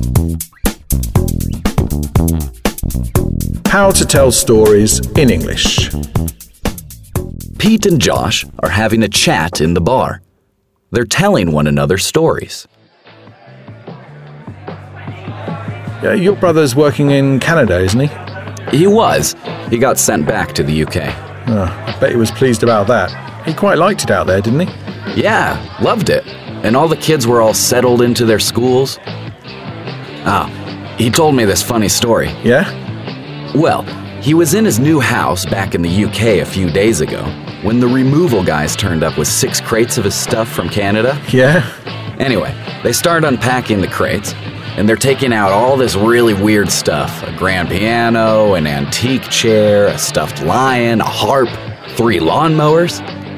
How to tell stories in English. Pete and Josh are having a chat in the bar. They're telling one another stories. Your brother's working in Canada, isn't he? He was. He got sent back to the UK. I bet he was pleased about that. He quite liked it out there, didn't he? Yeah, loved it. And all the kids were all settled into their schools. He told me this funny story. Yeah? Well, he was in his new house back in the UK a few days ago when the removal guys turned up with 6 crates of his stuff from Canada. Yeah? Anyway, they start unpacking the crates, and they're taking out all this really weird stuff. A grand piano, an antique chair, a stuffed lion, a harp, 3 lawnmowers.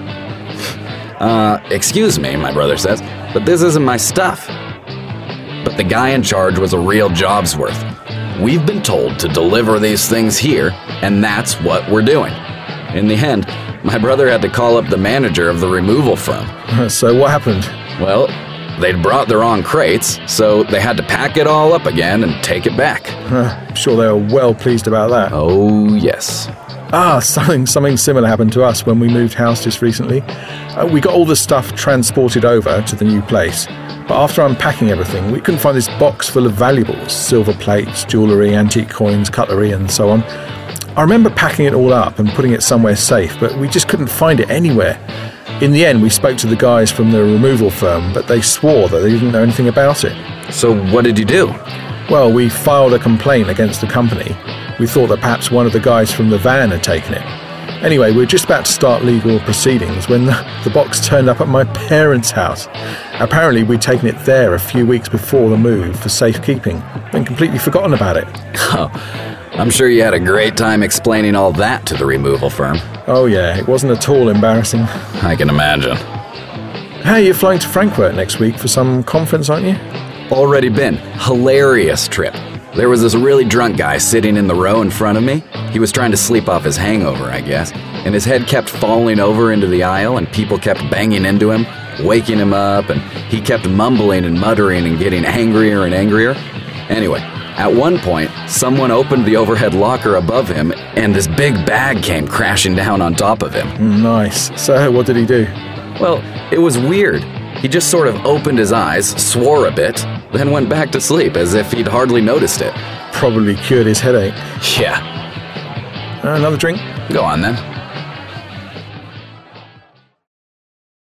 Excuse me, my brother says, but this isn't my stuff. But the guy in charge was a real job's worth. We've been told to deliver these things here, and that's what we're doing. In the end, my brother had to call up the manager of the removal firm. So what happened? Well, they'd brought the wrong crates, so they had to pack it all up again and take it back. I'm sure they were well pleased about that. Oh, yes. Something similar happened to us when we moved house just recently. We got all the stuff transported over to the new place, but after unpacking everything, we couldn't find this box full of valuables, silver plates, jewellery, antique coins, cutlery and so on. I remember packing it all up and putting it somewhere safe, but we just couldn't find it anywhere. In the end, we spoke to the guys from the removal firm, but they swore that they didn't know anything about it. So what did you do? Well, we filed a complaint against the company. We thought that perhaps one of the guys from the van had taken it. Anyway, we were just about to start legal proceedings when the box turned up at my parents' house. Apparently, we'd taken it there a few weeks before the move for safekeeping and completely forgotten about it. Oh, I'm sure you had a great time explaining all that to the removal firm. Oh yeah, it wasn't at all embarrassing. I can imagine. Hey, you're flying to Frankfurt next week for some conference, aren't you? Already been. Hilarious trip. There was this really drunk guy sitting in the row in front of me. He was trying to sleep off his hangover, I guess, and his head kept falling over into the aisle and people kept banging into him, waking him up, and he kept mumbling and muttering and getting angrier and angrier. Anyway, at one point, someone opened the overhead locker above him and this big bag came crashing down on top of him. Nice. So what did he do? Well, it was weird. He just sort of opened his eyes, swore a bit, then went back to sleep as if he'd hardly noticed it. Probably cured his headache. Yeah. Another drink? Go on then.